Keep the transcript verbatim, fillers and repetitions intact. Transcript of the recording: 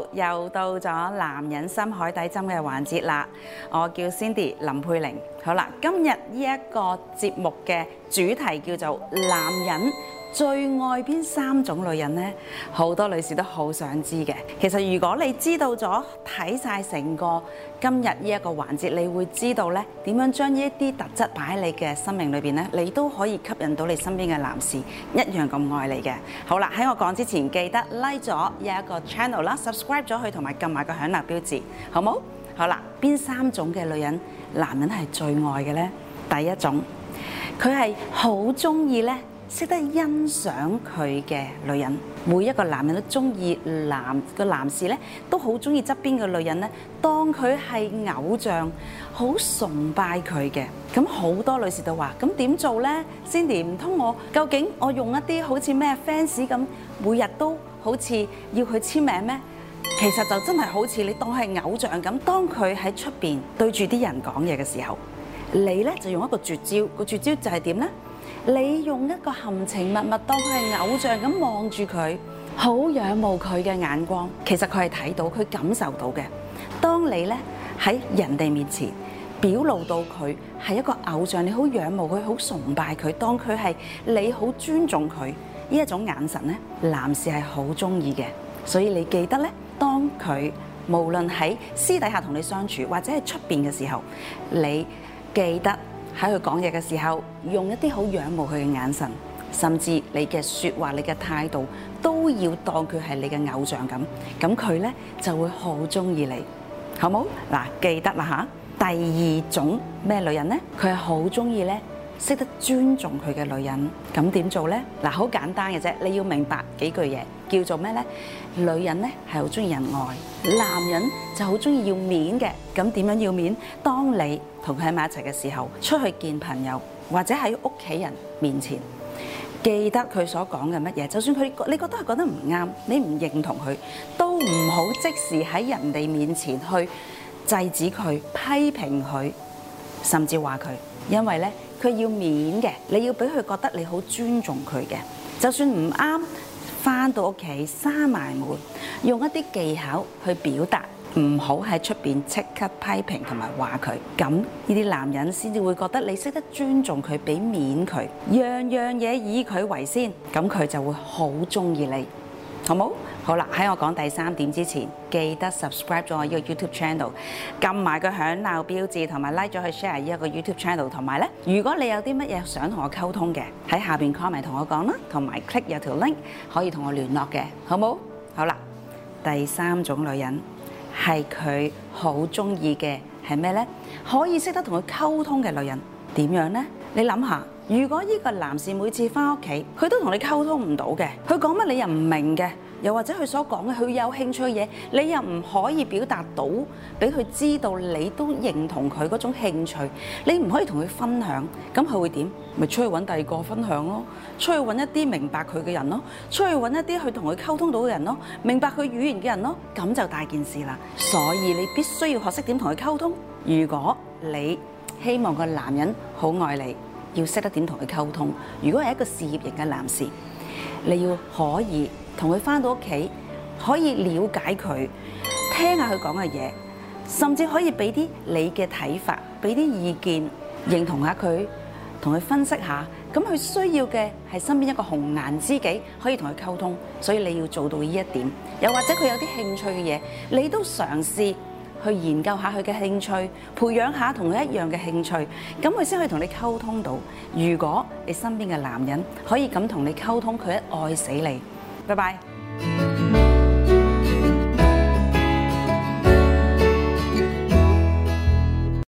好，又到咗男人心海底針嘅環節啦。我叫 Cindy 林佩玲。好啦，今日呢一個節目嘅主題叫做男人最愛邊三種女人呢？好多女士都好想知嘅。其實如果你知道咗睇晒成個今日呢一個環節，你會知道咧點樣將呢一啲特質擺喺你嘅生命裏邊咧，你都可以吸引到你身邊嘅男士一樣咁愛你嘅。好啦，喺我講之前，記得 like 咗呢一個 channel 啦 ，subscribe 咗佢，同埋撳埋個響鈴標誌，好冇？好啦，邊三種嘅女人，男人係最愛嘅呢？第一種，佢係好中意咧。識得欣賞佢嘅女人，每一個男人都中意男個男士咧，都好中意側邊嘅女人咧，當佢係偶像，好崇拜佢嘅。咁好多女士都話：咁點做呢 Cindy 唔通我究竟我用一啲好似咩 fans 咁，每日都好似要佢簽名咩？其實就真係好似你當係偶像咁，當佢喺出邊對住啲人講嘢嘅時候，你咧就用一個絕招，個絕招就係點呢？你用一個含情脈脈當佢係偶像咁望住佢，好仰慕佢嘅眼光。其實佢係睇到，佢感受到嘅。當你咧喺人哋面前表露到佢係一個偶像，你好仰慕佢，好崇拜佢，當佢係你好尊重佢呢一種眼神咧，男士係好中意嘅。所以你記得咧，當佢無論喺私底下同你相處，或者係出邊嘅時候，你記得。喺佢講嘢嘅時候，用一啲好仰慕佢嘅眼神，甚至你嘅説話、你嘅態度，都要當佢係你嘅偶像咁。咁佢咧就會好中意你，好冇？嗱，記得啦嚇。第二種咩女人咧？佢係好中意咧，識得尊重佢嘅女人。咁點做咧？嗱，好簡單嘅啫，你要明白幾句嘢，叫做咩咧？女人咧係好中意人愛，男人就好中意要面嘅。咁點樣要面？當你同佢喺埋一齊嘅時候，出去見朋友或者喺屋企人面前，記得佢所講嘅乜嘢。就算佢你覺得佢覺得唔啱，你唔認同佢，都唔好即時喺人哋面前去制止佢、批評佢，甚至話佢。因為咧，佢要面嘅，你要俾佢覺得你好尊重佢嘅。就算唔啱，返到屋企閂埋門，用一啲技巧去表達。唔好喺出邊即刻批評同埋話佢，咁呢啲男人先至會覺得你識得尊重佢，俾面佢，樣樣嘢以佢為先，咁佢就會好中意你，好冇？好啦，喺我講第三點之前，記得 subscribe 咗我呢個 YouTube channel， 撳埋個響鬧標誌，同埋 like 咗去 share 呢一個 YouTube channel， 同埋咧，如果你有啲乜嘢想同我溝通嘅，喺下邊 comment 同我講啦，同埋 click 有條 link 可以同我聯絡嘅，好冇？好啦，第三種女人。係佢好中意嘅係咩呢？可以識得同佢溝通嘅女人點樣呢？你諗下，如果呢個男士每次返屋企，佢都同你溝通唔到嘅，佢講乜你又唔明嘅，又或者佢所講嘅佢有興趣嘅嘢，你又唔可以表達到俾佢知道，你都認同佢嗰種興趣，你唔可以同佢分享，咁佢會點？咪出去揾第二個分享咯，出去揾一啲明白佢嘅人咯，出去揾一啲去同佢溝通到嘅人咯，明白佢語言嘅人咯，咁就大件事啦。所以你必須要學識點同佢溝通。如果你希望個男人好愛你，要識得點同佢溝通。如果係一個事業型嘅男士，你要可以同佢返到屋企，可以了解佢，聽下佢講嘅嘢，甚至可以俾啲你嘅睇法，俾啲意見，認同下佢，同佢分析下。咁佢需要嘅係身邊一個紅顏知己，可以同佢溝通。所以你要做到呢一點。又或者佢有啲興趣嘅嘢，你都嘗試去研究下佢嘅興趣，培養下同佢一樣嘅興趣，咁佢先可以同你溝通到。如果你身邊嘅男人可以咁同你溝通，佢一愛死你。拜拜。